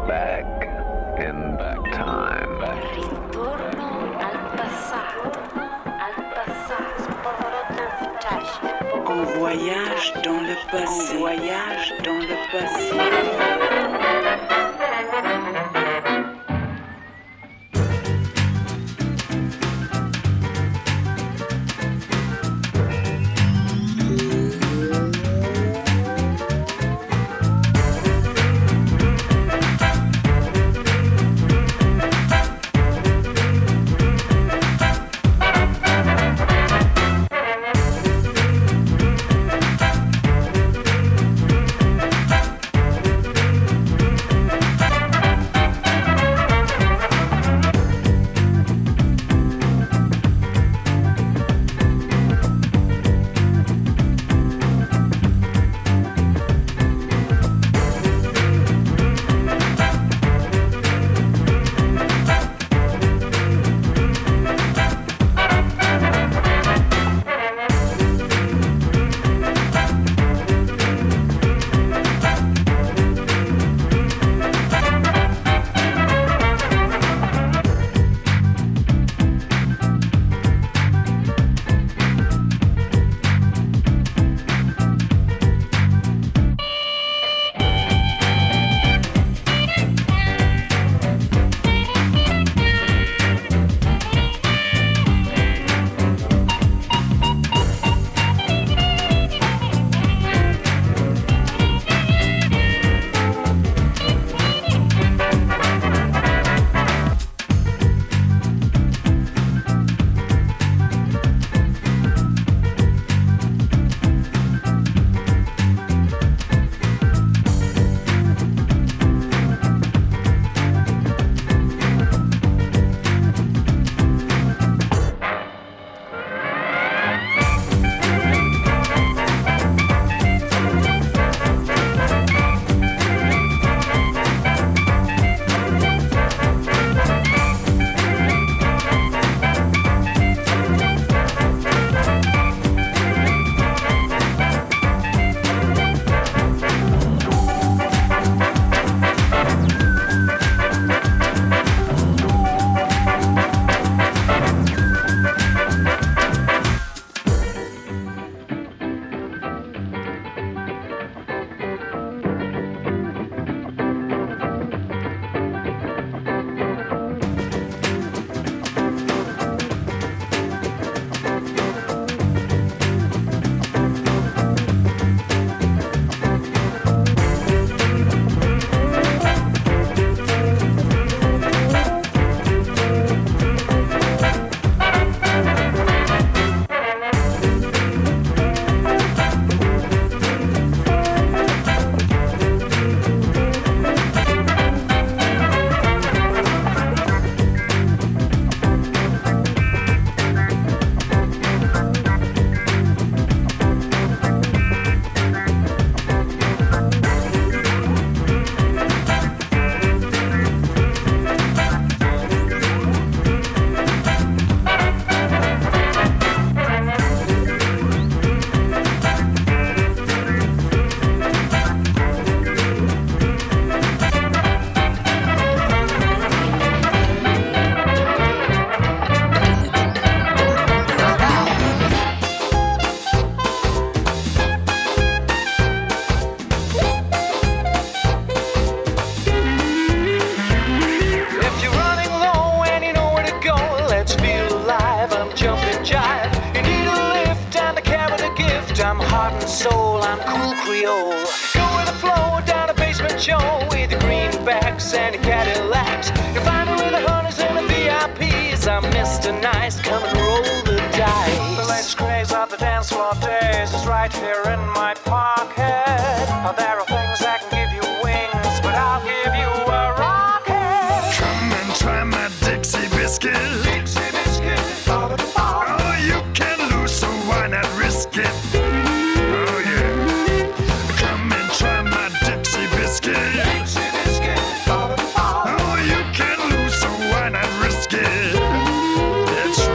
back in back time. Ritorno al passato. On voyage dans le passé. On voyage dans le passé.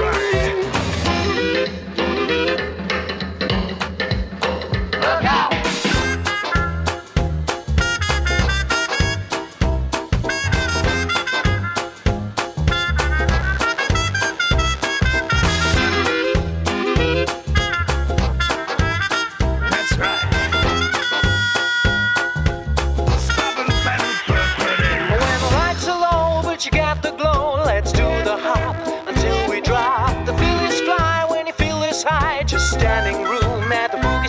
Look out!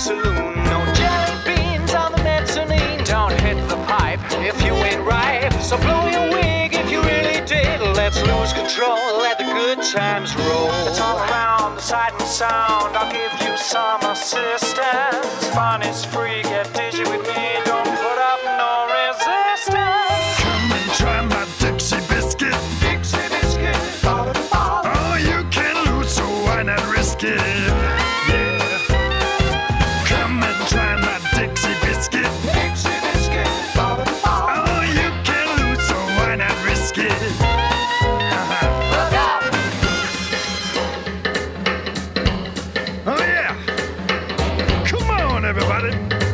saloon. No jelly beans on the mezzanine. Don't hit the pipe if you ain't ripe. So blow your wig if you really did. Let's lose control, let the good times roll. It's all around the sight and sound. I'll give you some assistance. Fun is free, get dizzy with me. Don't put up no resistance. Come and try my Dixie biscuit. Dixie biscuit. Oh, you can lose, so why not risk it? Yeah. Come and try my Dixie biscuit. Dixie biscuit. Oh, you can lose, so why not risk it? Look out. Oh yeah! Come on, everybody!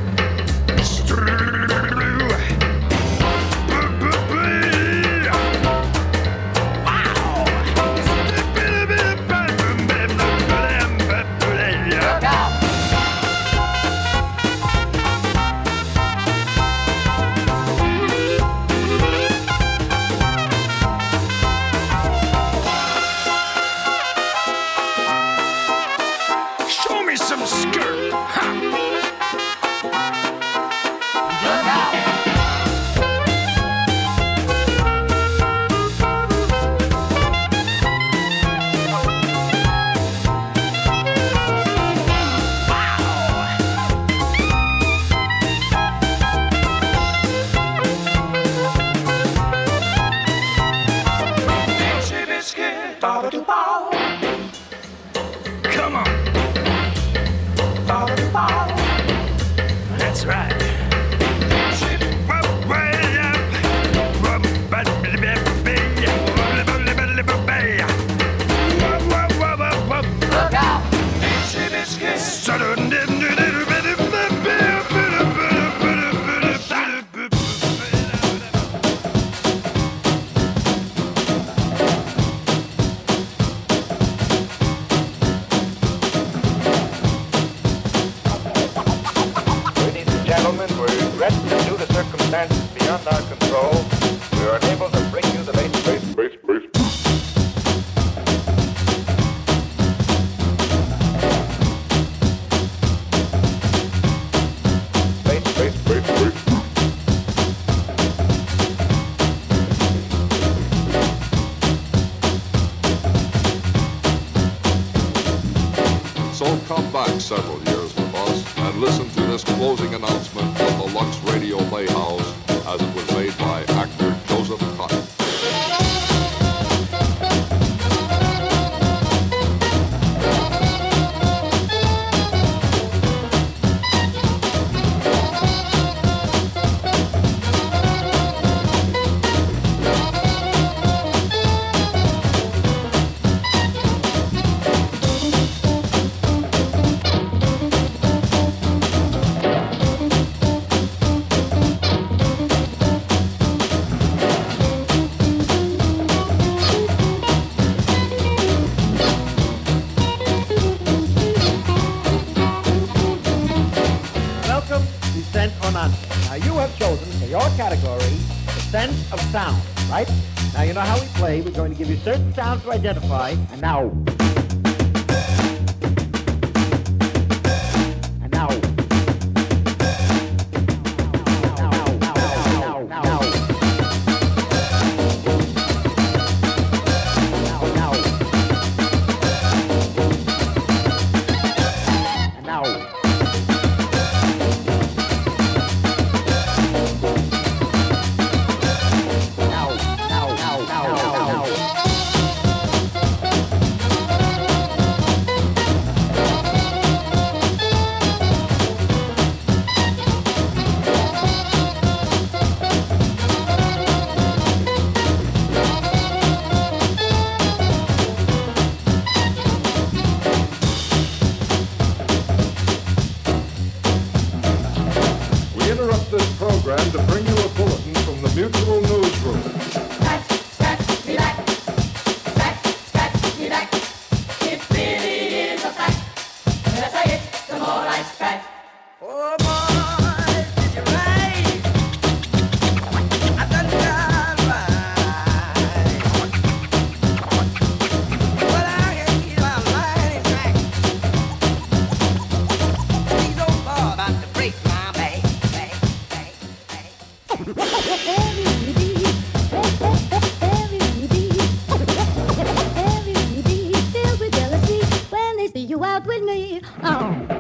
Look out. Show me some skirt! Ha! Look out. Dixie biscuit. Come on! That's right. Look out. Dixie biscuit. Ladies and gentlemen, we regret that due to circumstances beyond our control, we are unable to bring you the latest. So come back several years with us and listen to this closing announcement of the Lux Radio Playhouse as it was made by actor Joseph Cotton. Welcome to Scent or Nonsense. Now you have chosen for your category the sense of sound, right? Now you know how we play. We're going to give you certain sounds to identify. And now. And now. program to bring you a bulletin from the Mutual Newsroom. Scratch me back. Scratch me back. It really is a fact. The less I hit, the more I scratch. Oh boy, did you right? I done got right. Well, I can keep my mind in track. These old Filled with jealousy when they see you out with me. Oh.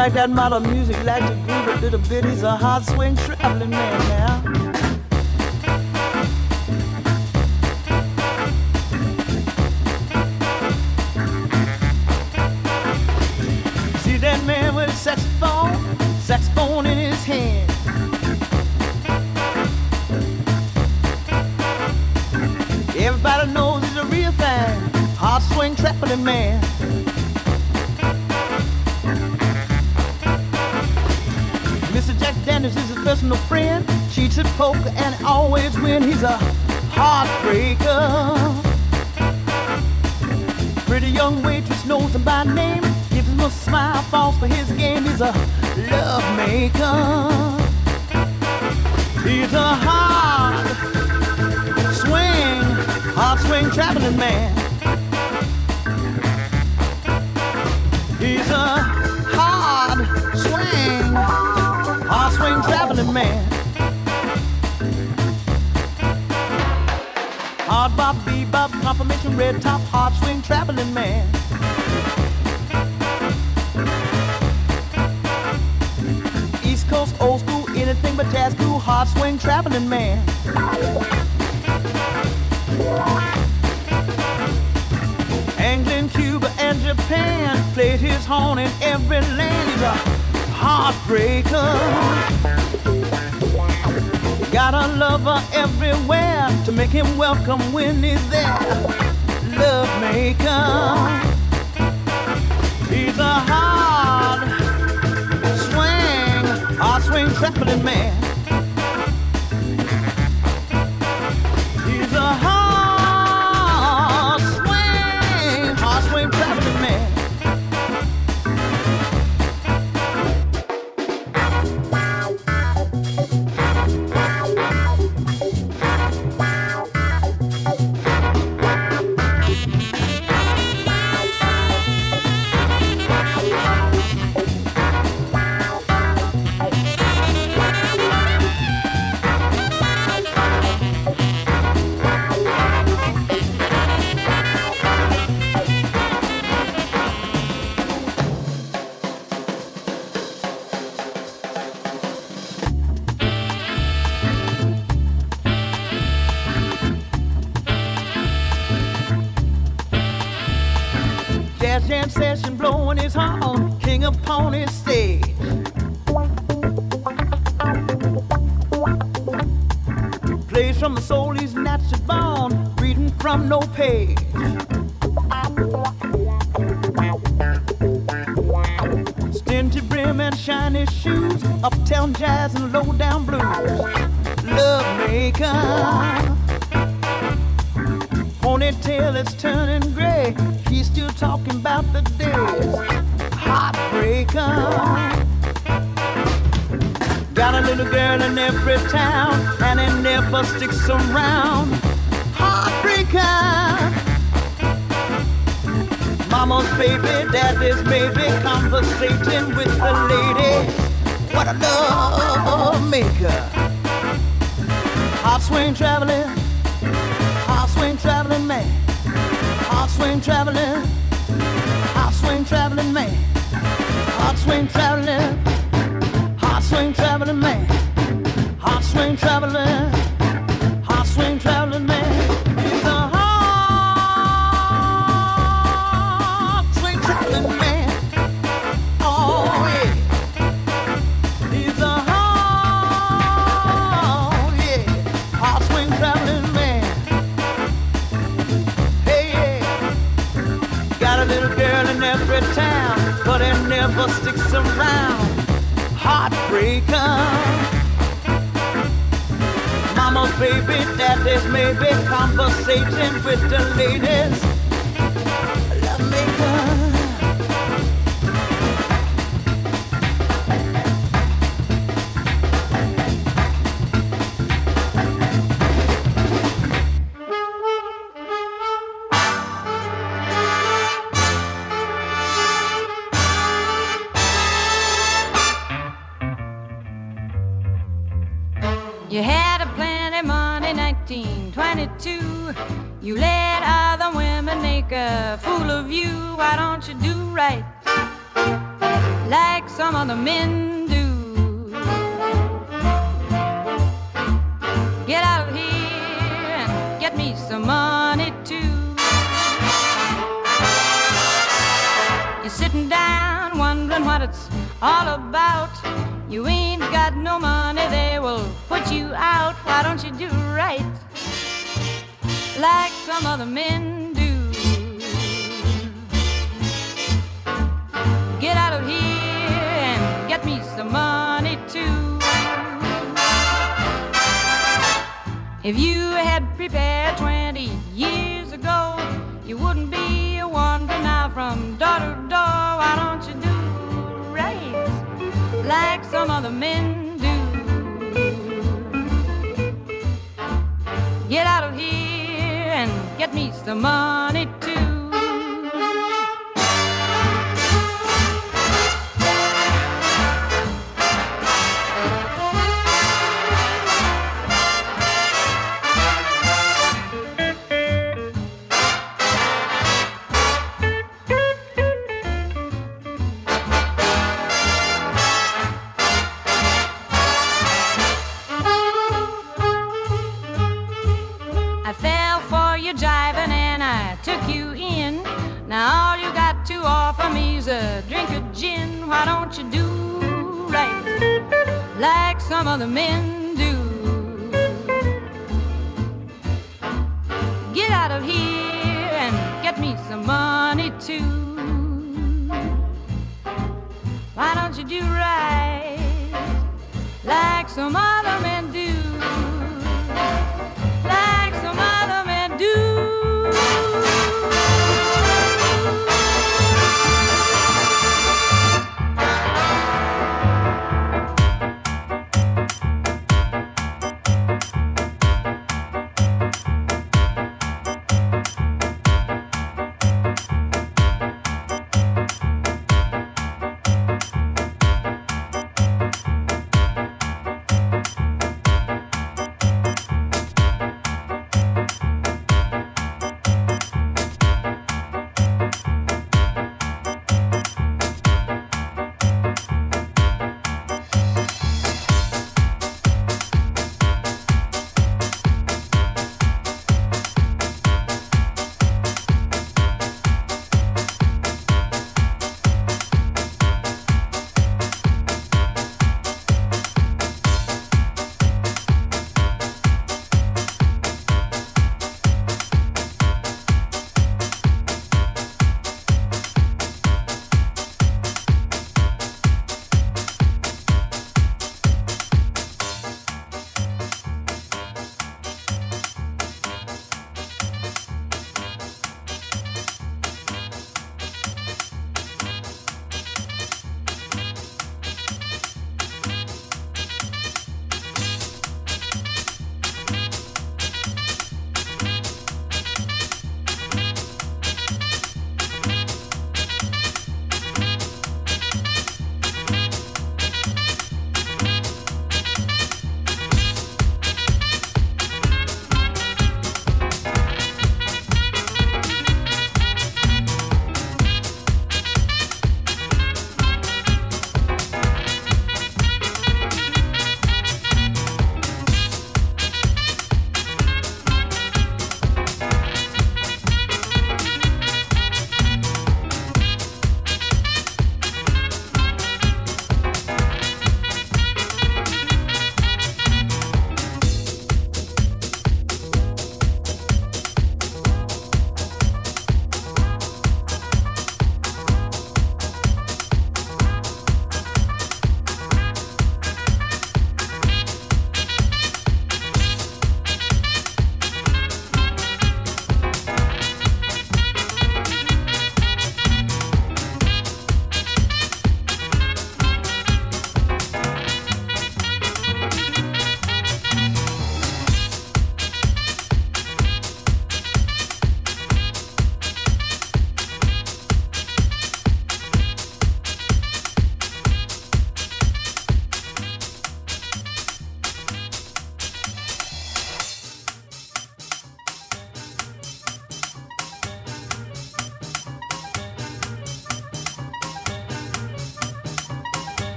like that modern music, like to groove a little bit. He's a hard swing traveling man now. See that man with a saxophone in his hand. Everybody knows he's a real fan, hard swing traveling man. Mr. Jack Daniels is his personal friend, cheats at poker and always win. He's a heartbreaker. Pretty young waitress knows him by name, gives him a smile, falls for his game. He's a love maker. He's a hard swing traveling man. He's a hard swing traveling man. Hard bop, bebop, confirmation, red top, hard swing traveling man. East Coast, old school, anything but jazz cool, hard swing traveling man. England, Cuba, and Japan played his horn in every land. He's a heartbreaker. Got a lover everywhere to make him welcome when he's there. Love maker. He's a hard swing traveling man. He's a hard swing traveling man. Jam session blowing his horn, king upon his stage. Plays from the soul he's naturally born, reading from no page. Stingy brim and shiny shoes, uptown jazz and low down blues. Love maker. Ponytail is turning gray, he's still talking about the days. Heartbreaker. Got a little girl in every town, and it never sticks around. Heartbreaker. Mama's baby, daddy's maybe, conversating with the lady. What a love maker. Hot swing traveling man, hot swing traveling man, hot swing traveling man, hot swing traveling man. He's a hot swing traveling man. Oh yeah, he's a hot swing traveling man. A little girl in every town, but it never sticks around. Heartbreaker. Mama's baby, daddy's maybe, conversating with the ladies. Love maker. You had a plenty money, 1922. You let other women make a fool of you. Why don't you do right? like some other men do. Get out of here and get me some money too. You're sitting down wondering what it's all about. You ain't got no money, they will put you out. Why don't you do right like some other men do? Get out of here and get me some money too. If you had prepared 20 years ago, you wouldn't be wandering now from door to door. Why don't you do right like some other men do? Get out of here and get me some money too. Now all you got to offer me's a drink of gin. Why don't you do right like some other men do? Get out of here and get me some money too. Why don't you do right like some other men do? Like some other men do.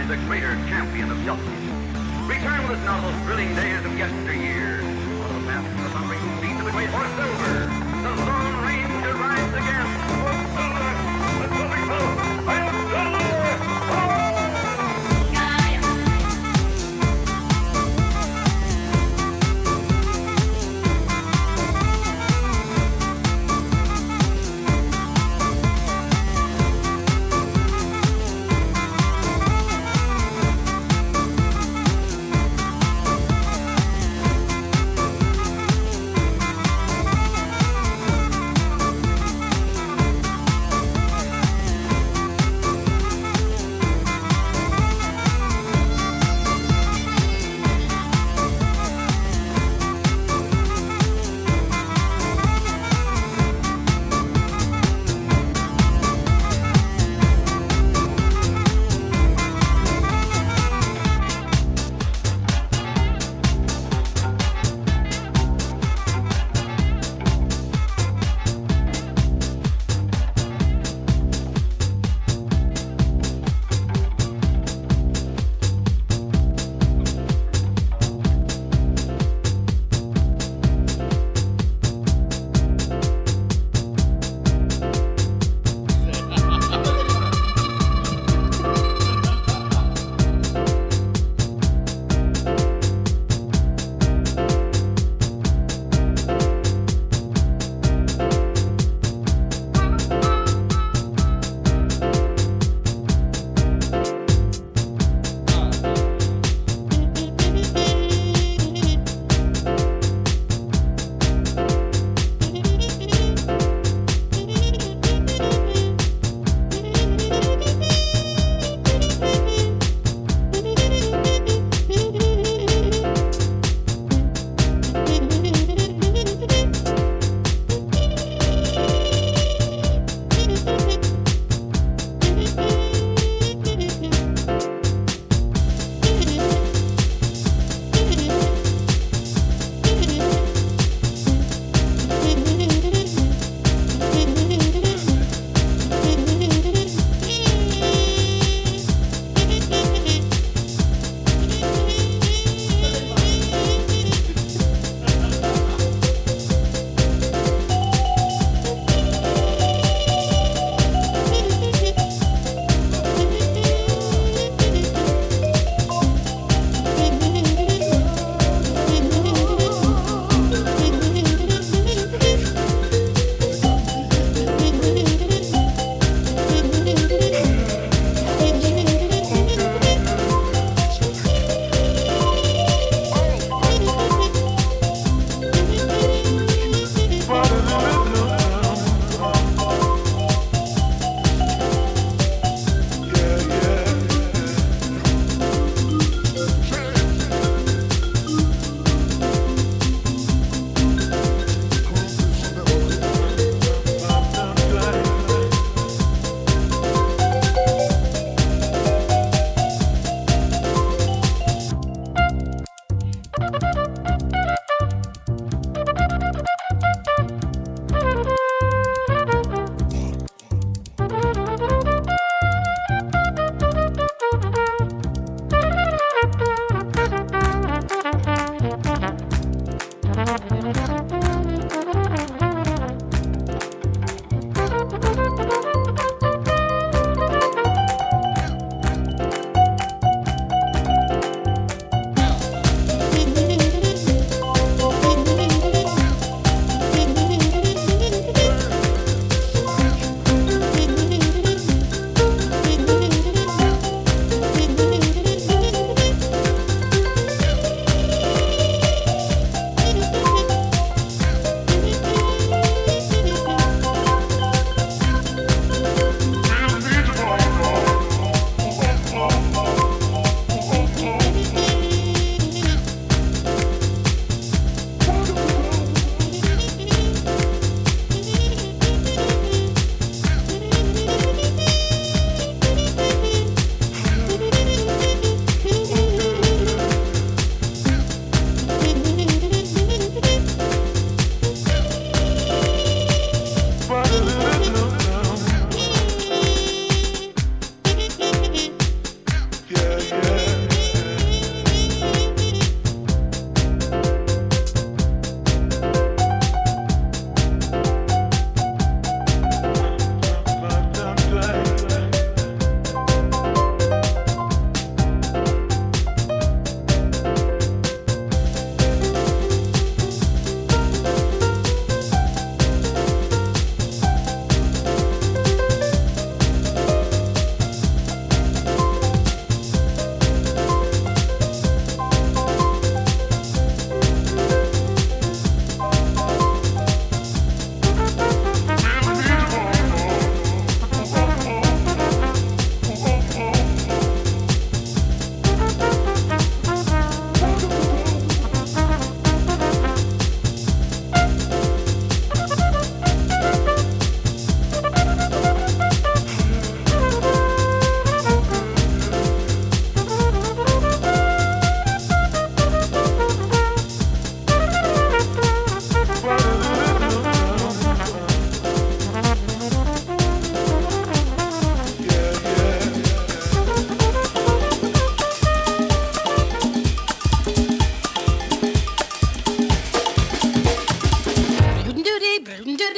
lies a greater champion of justice. Return with us now those thrilling days of yesteryear. On the path to the thundering speed of the great horse Silver, the Lone Ranger rides again. For Silver, the Silver Foe, I am Silver!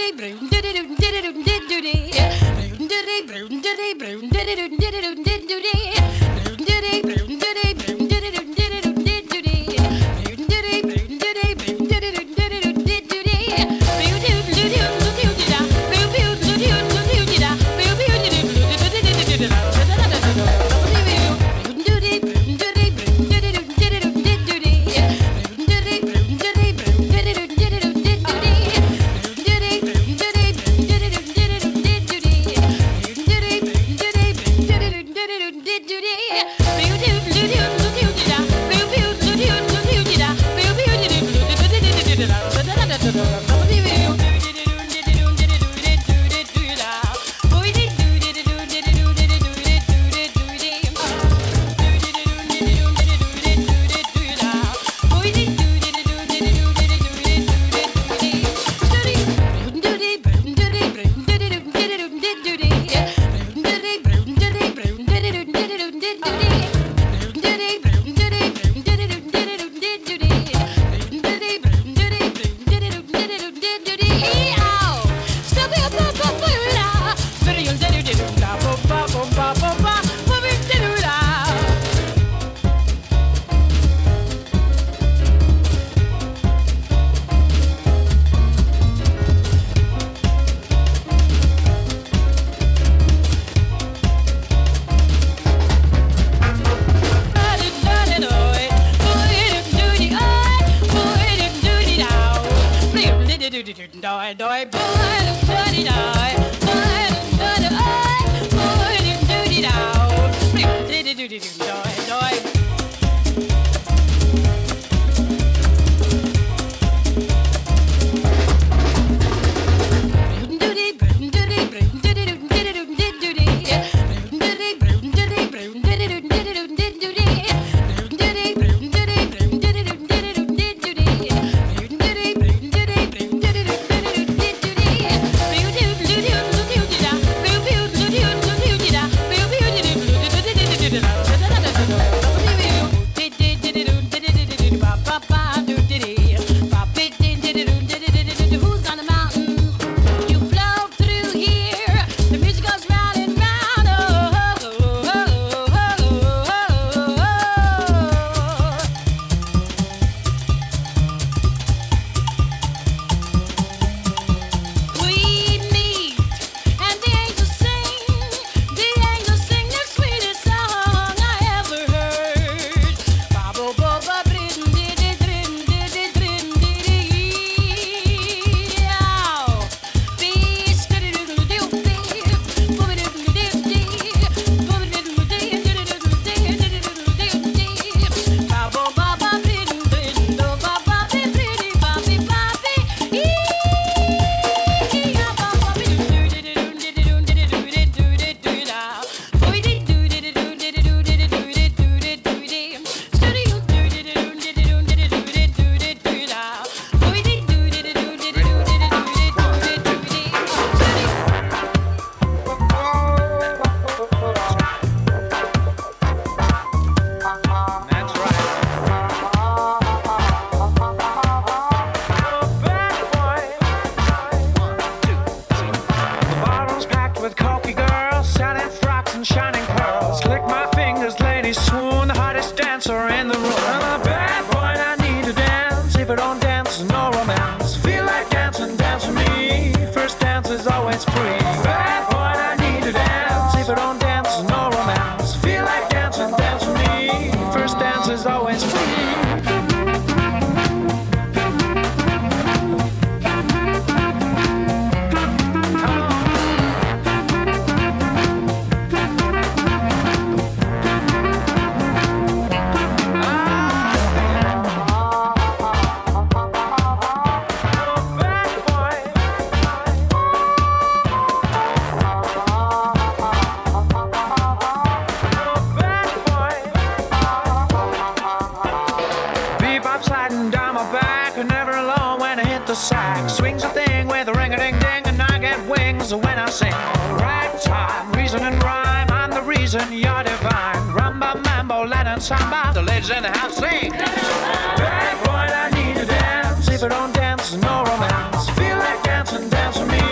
Bad boy, I need to dance. If I don't dance, no romance. Feel like dancing, dance with me.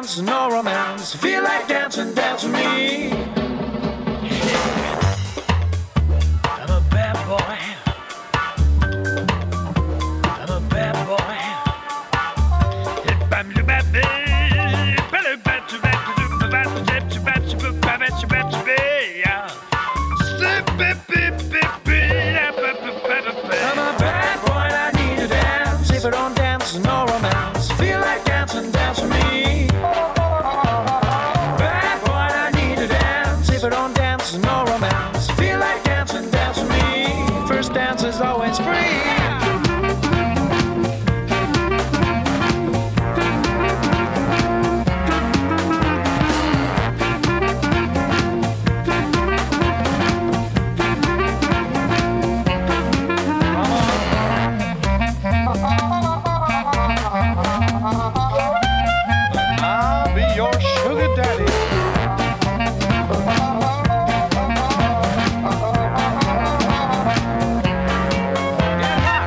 dance, no romance. Feel like dancing, dance with me. I'm a bad boy. I'm a bad boy. I'm a bad boy, I need to dance. If I don't dance, no romance. Feel like dancing, dance with me. Bad boy, I need to dance. If I don't dance, no romance. Feel like dancing, dance with me. First dance is always free. I'll be your sugar daddy. Yeah.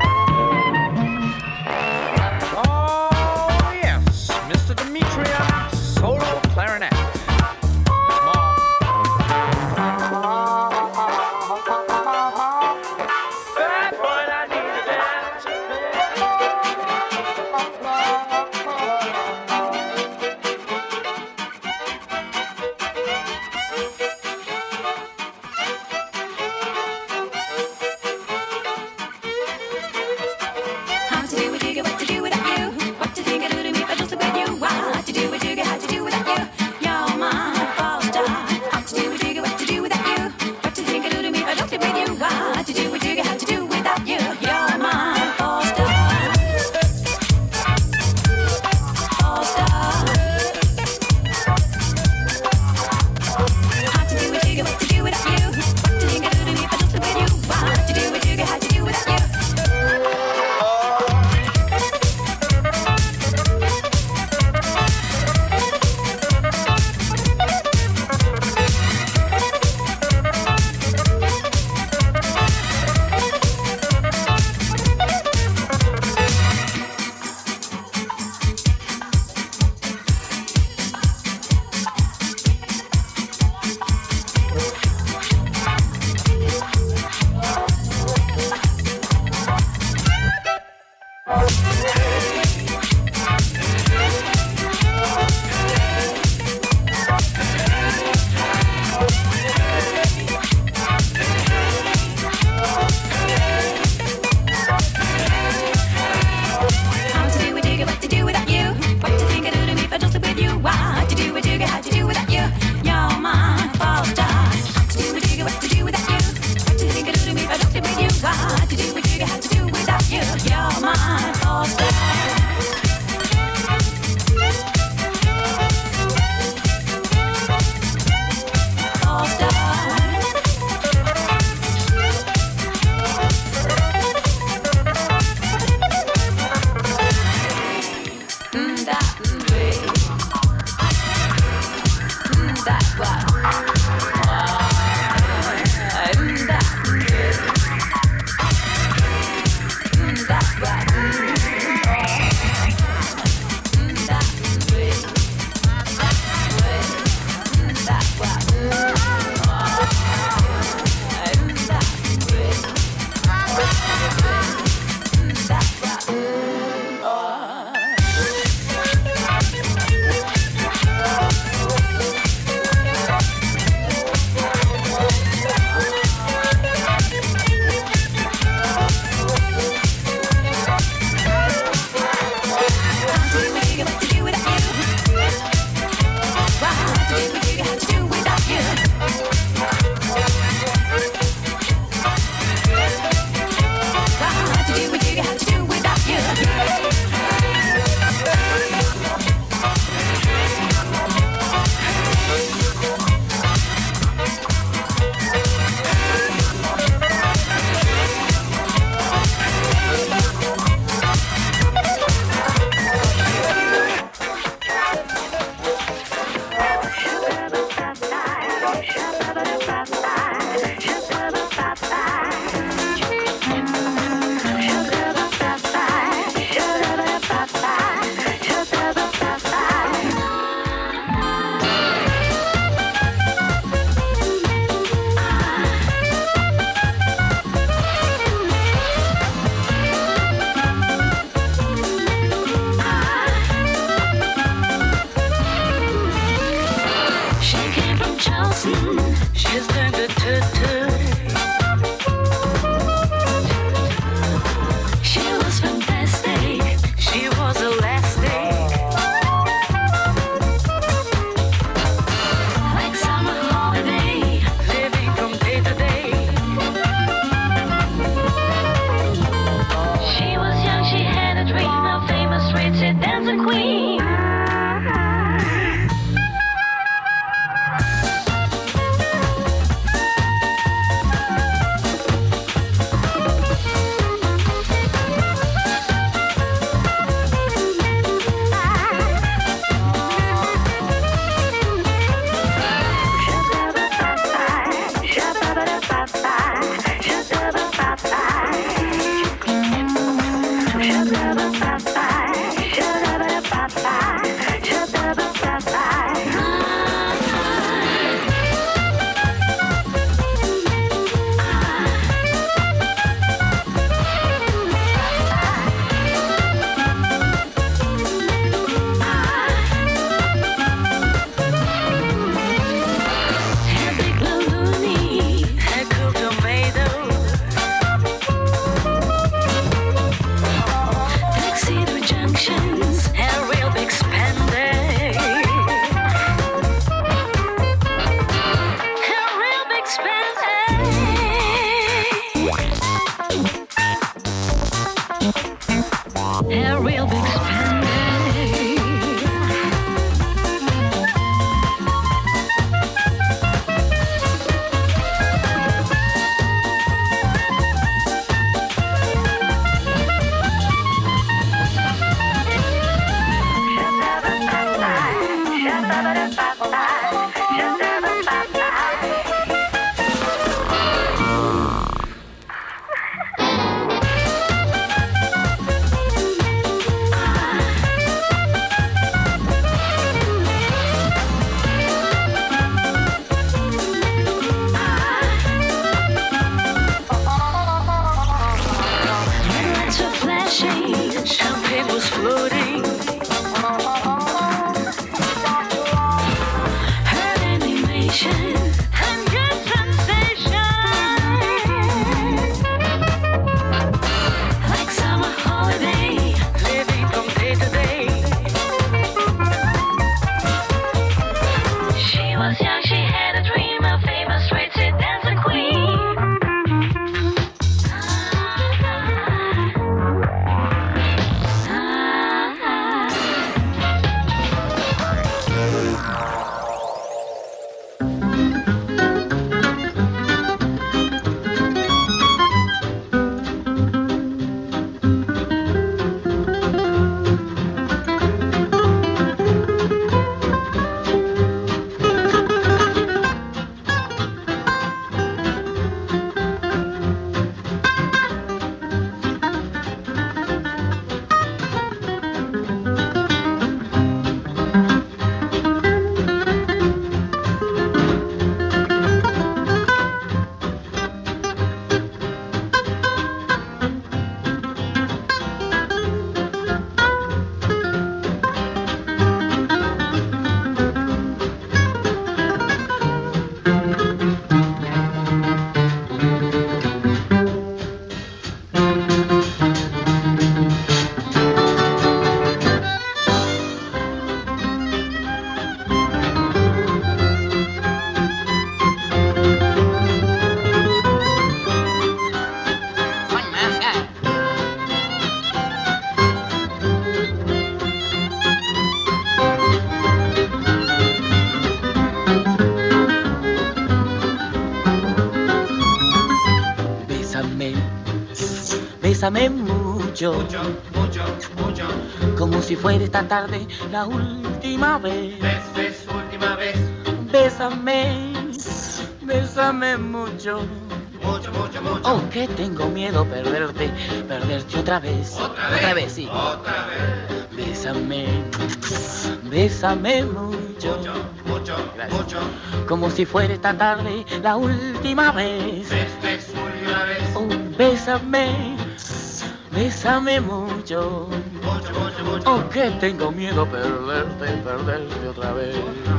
dancing queen. Bésame mucho, mucho, como si fuera esta tarde la última vez. Última vez. Bésame mucho, mucho. Oh, que tengo miedo perderte otra vez. Otra vez, sí. Otra vez. Bésame mucho, mucho, como si fuera esta tarde la última vez. Última vez. Oh, bésame mucho, mucho. Oh, que tengo miedo perderte otra vez.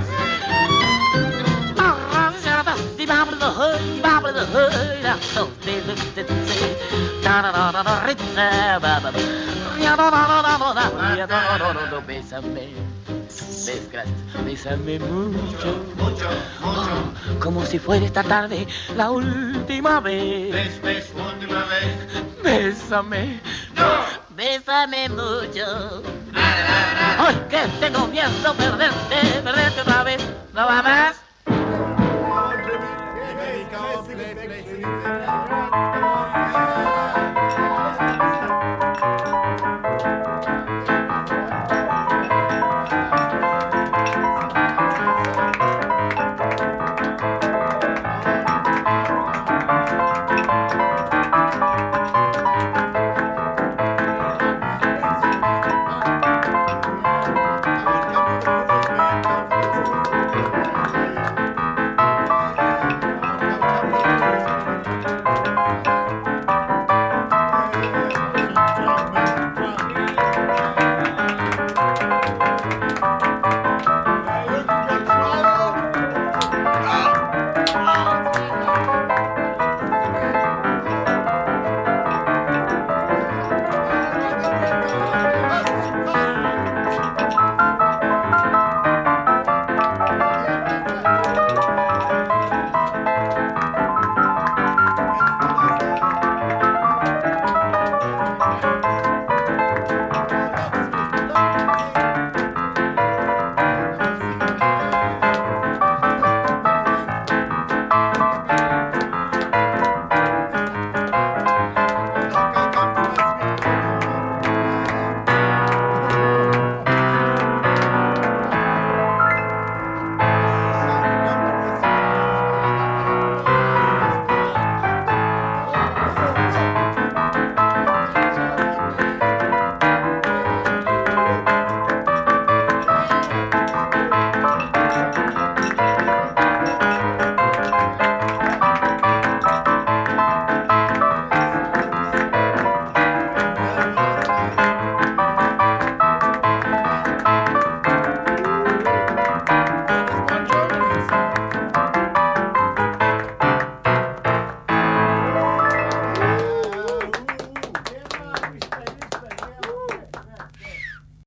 Bésame mucho, oh, como si fuera esta tarde la última vez. Última vez. Bésame, no. Bésame mucho. ¡Ay, que tengo miedo perderte otra vez! ¿No va más?